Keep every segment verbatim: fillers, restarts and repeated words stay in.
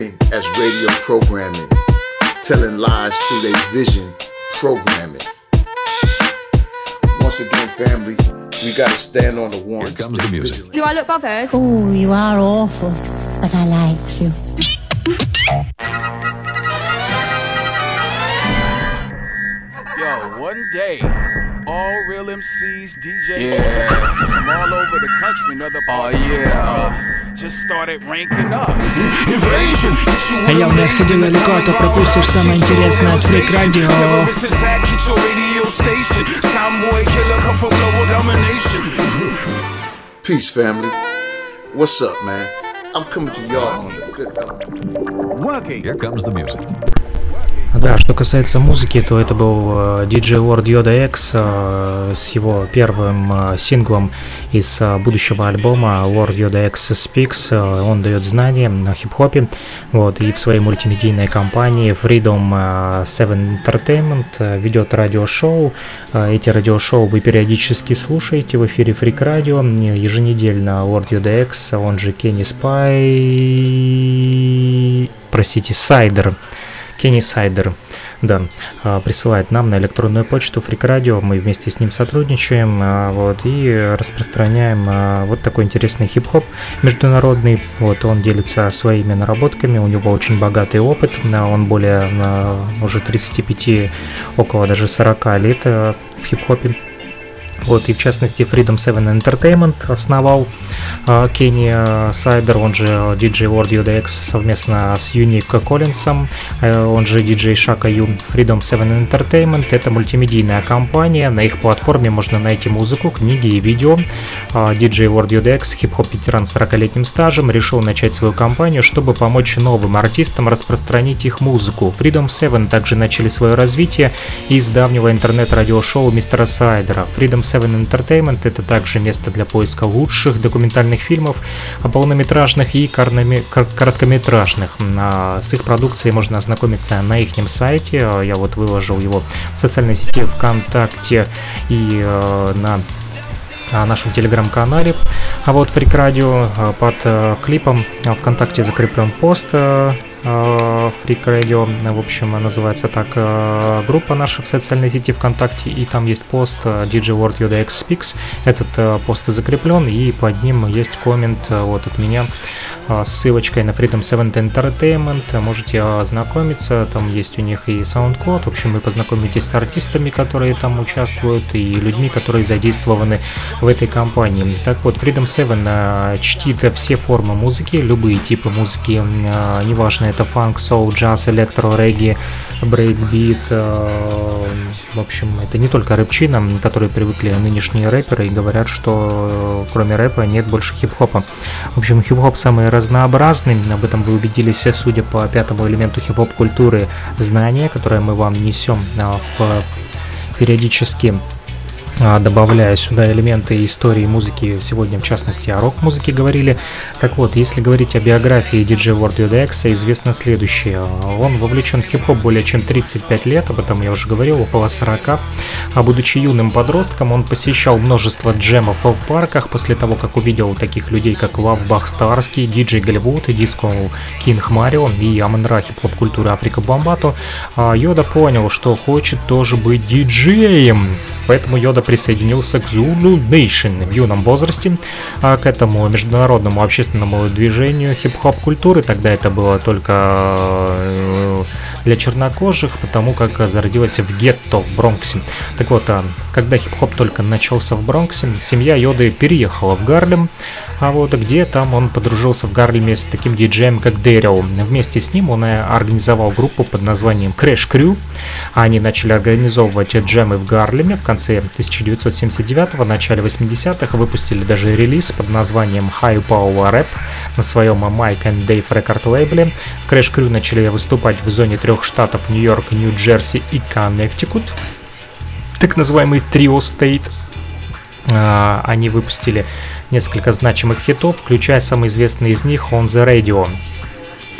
as radio programming, telling lies through their vision programming. Once again, family, we gotta stand on the warrants. Here comes the music. Do I look bothered? Oh, you are awful, but I like you. Yo, one day, all real M Cs, D Js, yeah. from all over the country and other parts oh, yeah. uh, just started ranking up. Invasion. А я не отходи далеко, а то пропустишь самое интересное от Freak Radio. Peace, family. What's up, man? I'm coming to y'all on the fifth element. Working. Here comes the music. Да, что касается музыки, то это был ди джей Ward Yoda X э, с его первым э, синглом из э, будущего альбома Ward Yoda X Speaks. Э, он дает знания на хип-хопе, вот, и в своей мультимедийной компании Freedom Seven Entertainment э, ведет радиошоу. Э, эти радиошоу вы периодически слушаете в эфире Freak Radio. Еженедельно Ward Yoda X, он же Kenny Spy, простите, Сайдер. Kenny Сайдер, да, присылает нам на электронную почту Freak Radio, мы вместе с ним сотрудничаем, вот, и распространяем вот такой интересный хип-хоп международный, вот, он делится своими наработками, у него очень богатый опыт, он более уже тридцати пяти, около даже сорока лет в хип-хопе. Вот, и в частности Freedom Seven Entertainment основал Kenny uh, Сайдер, он же ди джей Ward Yoda X совместно с Unique Коллинсом, uh, он же ди джей Shaka Yu. Freedom Seven Entertainment — это мультимедийная компания, на их платформе можно найти музыку, книги и видео. uh, ди джей Ward Yoda X, хип-хоп-ветеран с сорокалетним стажем, решил начать свою компанию, чтобы помочь новым артистам распространить их музыку. Freedom Seven также начали свое развитие из давнего интернет-радиошоу мистера Сайдера. Freedom Seven Entertainment — это также место для поиска лучших документальных фильмов, полнометражных и короткометражных. С их продукцией можно ознакомиться на их сайте. Я вот выложил его в социальной сети ВКонтакте и на нашем телеграм-канале. А вот Freak Radio, под клипом ВКонтакте закреплен пост Freak Radio, в общем, называется так группа наша в социальной сети ВКонтакте, и там есть пост ди джей Ward Yoda X Speaks. Этот пост закреплен, и под ним есть коммент вот от меня с ссылочкой на Freedom Seven Entertainment. Можете ознакомиться, там есть у них и SoundCloud. В общем, вы познакомитесь с артистами, которые там участвуют, и людьми, которые задействованы в этой компании. Так вот, Freedom Seven чтит все формы музыки, любые типы музыки, неважно, это фанк, соул, джаз, электро, регги, брейкбит. В общем, это не только рэпчина, к которой привыкли нынешние рэперы и говорят, что кроме рэпа нет больше хип-хопа. В общем, хип-хоп самый разнообразный, об этом вы убедились, судя по пятому элементу хип-хоп культуры, знания, которое мы вам несем в периодически, добавляя сюда элементы истории музыки, сегодня в частности о рок-музыке говорили. Так вот, если говорить о биографии ди джей Ward Yoda X, известно следующее. Он вовлечен в хип-хоп более чем тридцать пять лет, об этом я уже говорил, около сорока. А будучи юным подростком, он посещал множество джемов в парках. После того, как увидел таких людей, как Лавбах Старский, Диджей Голливуд, Диско Кинг Марио и Амон-Ра хип-хоп культуры Африка Бомбату, Йода понял, что хочет тоже быть диджеем. Поэтому Йода присоединился к Zulu Nation в юном возрасте, а к этому международному общественному движению хип-хоп культуры. Тогда это было только для чернокожих, потому как зародилась в гетто в Бронксе. Так вот, когда хип-хоп только начался в Бронксе, семья Йоды переехала в Гарлем, а вот где там он подружился в Гарлеме с таким диджеем, как Дэрил. Вместе с ним он организовал группу под названием Crash Crew. Они начали организовывать джемы в Гарлеме в конце тысяча девятьсот семьдесят девятого, начале восьмидесятых, выпустили даже релиз под названием High Power Rap на своем Mike and Dave Record лейбле. Crash Crew начали выступать в зоне трех штатов Нью-Йорк, Нью-Джерси и Коннектикут, так называемый Trio State. Они выпустили несколько значимых хитов, включая самый известный из них On The Radio.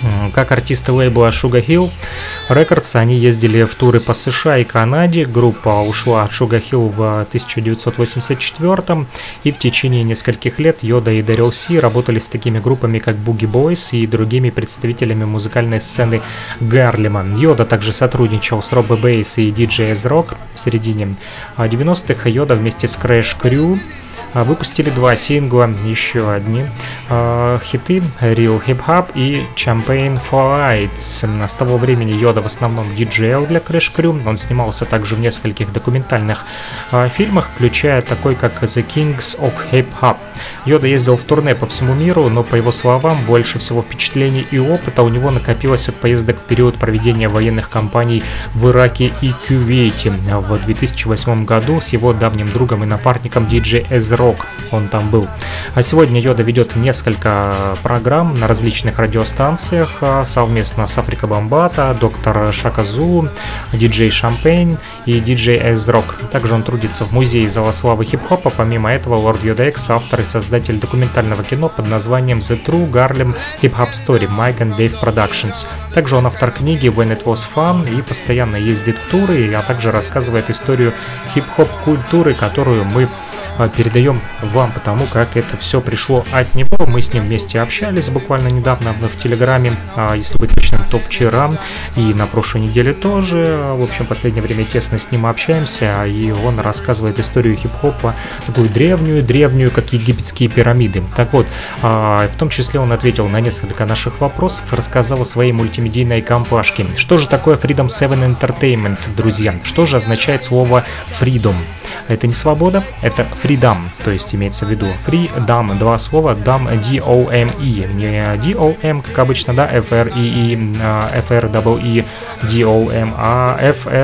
Как артисты лейбла Sugar Hill Records, они ездили в туры по США и Канаде. Группа ушла от Sugar Hill в тысяча девятьсот восемьдесят четвёртом, и в течение нескольких лет Йода и Дэрил Си работали с такими группами, как Boogie Boys и другими представителями музыкальной сцены Гарлема. Йода также сотрудничал с Робби Бейс и ди джей Эз Рок. В середине девяностых Йода вместе с Crash Crew выпустили два сингла, еще одни э, хиты Real Hip Hop и Champagne for Lights. С того времени Йода в основном диджейл для Crash Crew. Он снимался также в нескольких документальных э, фильмах, включая такой как The Kings of Hip Hop. Йода ездил в турне по всему миру, но, по его словам, больше всего впечатлений и опыта у него накопилось от поездок в период проведения военных кампаний в Ираке и Кувейте. В две тысячи восьмом году с его давним другом и напарником ди джей Эз Рок он там был. А сегодня Йода ведет несколько программ на различных радиостанциях совместно с Африка Бомбата, доктор Шака Зулу, ди джей Champagne и ди джей Эз Рок. Также он трудится в музее Зала славы хип-хопа. Помимо этого, Лорд Йода Экс — автор и создатель документального кино под названием The True Garlem Hip Hop Story Mike and Dave Productions. Также он автор книги When It Was Fun и постоянно ездит в туры, а также рассказывает историю хип-хоп культуры, которую мы передаем вам, потому как это все пришло от него. Мы с ним вместе общались буквально недавно в Телеграме, если быть точным, то вчера, и на прошлой неделе тоже. В общем, в последнее время тесно с ним общаемся, и он рассказывает историю хип-хопа, такую древнюю-древнюю, как египетские пирамиды. Так вот, в том числе он ответил на несколько наших вопросов, рассказал о своей мультимедийной компашке. Что же такое Freedom семь Entertainment, друзья? Что же означает слово Freedom? Это не свобода, это freedom, то есть имеется в виду freedom, два слова, dom, D-O-M-E, не D-O-M, как обычно, да, F-R-E-E, F-R-E-E, D-O-M, а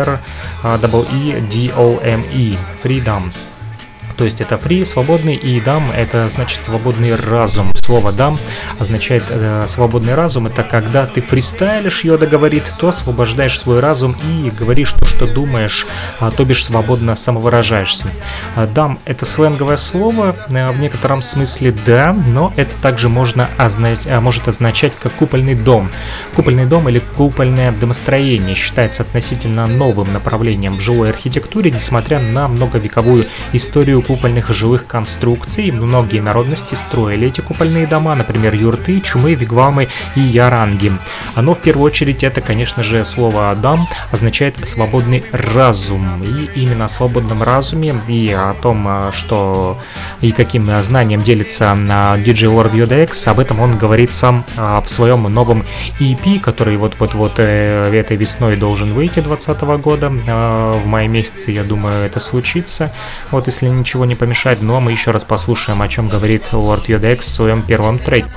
F-R-E-E, D-O-M-E, freedom. То есть это free, свободный, и dam — это значит свободный разум. Слово dam означает э, свободный разум. Это когда ты фристайлишь, Йода говорит, то освобождаешь свой разум и говоришь то, что думаешь, а, то бишь свободно самовыражаешься. Dam — это сленговое слово, э, в некотором смысле да, но это также можно означ... может означать как купольный дом. Купольный дом или купольное домостроение считается относительно новым направлением в жилой архитектуре, несмотря на многовековую историю купольных жилых конструкций. Многие народности строили эти купольные дома, например, юрты, чумы, вигвамы и яранги. Но в первую очередь это, конечно же, слово «дам» означает «свободный разум». И именно о свободном разуме и о том, что и каким знанием делится ди джей Lord Yoda X, об этом он говорит сам в своем новом и пи, который вот-вот-вот этой весной должен выйти двадцатого года. В мае месяце, я думаю, это случится. Вот если ничего не помешает, но мы еще раз послушаем, о чем говорит Lord Yoda X в своем первом треке.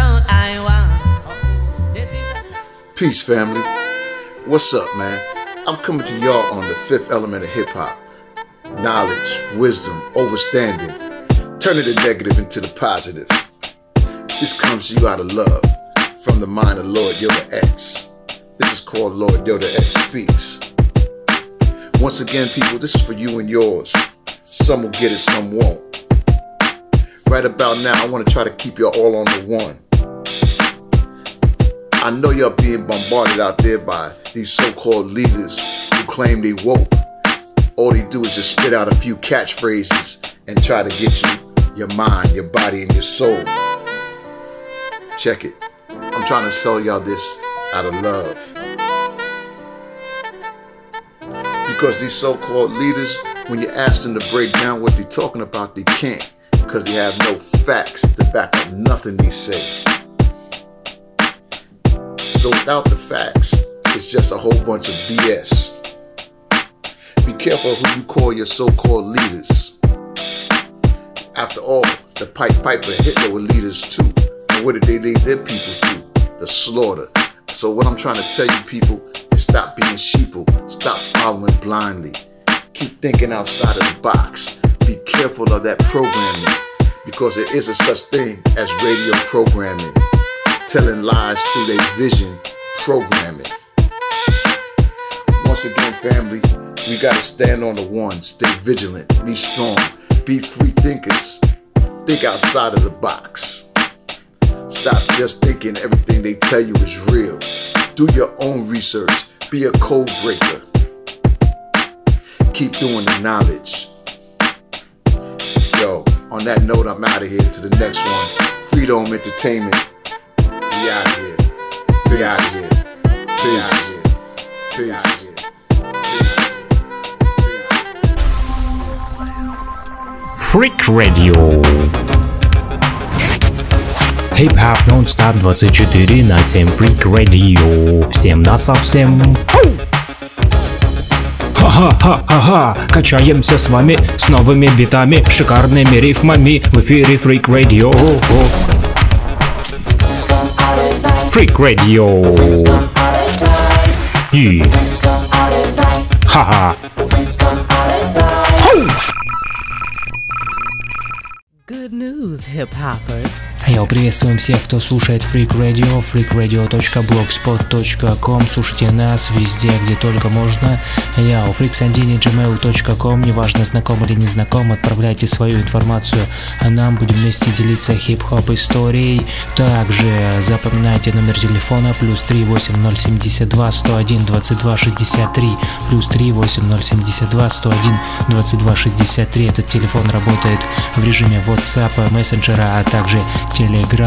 Peace, family. What's up, man? I'm coming to y'all on the fifth element of hip-hop. Knowledge, wisdom, overstanding. Turning the negative into the positive. This comes to you out of love from the mind of Lord Yoda X. This is called Lord Yoda X Speaks. Once again, people, this is for you and yours. Some will get it, some won't. Right about now, I want to try to keep y'all all on the one. I know y'all being bombarded out there by these so-called leaders who claim they woke. All they do is just spit out a few catchphrases and try to get you, your mind, your body, and your soul. Check it. I'm trying to sell y'all this out of love. Because these so-called leaders, when you ask them to break down what they're talking about, they can't, because they have no facts to back up nothing they say. So without the facts, it's just a whole bunch of B S. Be careful who you call your so-called leaders. After all, the Pied Piper and Hitler were leaders too. And what did they lead their people to? The slaughter. So what I'm trying to tell you, people, is stop being sheeple. Stop following blindly. Keep thinking outside of the box. Be careful of that programming, because there is a such thing as radio programming. Telling lies through their vision programming. Once again, family, we gotta stand on the one. Stay vigilant. Be strong. Be free thinkers. Think outside of the box. Stop just thinking everything they tell you is real. Do your own research. Be a code breaker. Keep doing the knowledge. Yo, on that note, I'm out of here to the next one. Freedom Entertainment. We out of here. We out of here. We out of here. We out of here. Freak Radio. Хип-хап нон-стоп двадцать четыре на семь. Freak Radio. Всем на совсем. Ха-ха-ха-ха-ха. Качаемся с вами с новыми битами, шикарными рифмами. В эфире Freak Radio. Freak Radio. И... Ха-ха. Good news, hip-hoppers. Йоу, приветствуем всех, кто слушает Freak Radio, freak radio точка blogspot точка com. Слушайте нас везде, где только можно. Йоу, freaksandini точка gmail точка com. Неважно, знаком или не знаком, отправляйте свою информацию, а нам будем вместе делиться хип-хоп историей. Также запоминайте номер телефона плюс три восемь ноль семь два сто один двадцать два шестьдесят три, плюс три восемь ноль семь два сто один двадцать два шестьдесят три. Этот телефон работает в режиме WhatsApp, мессенджера, а также Telegram.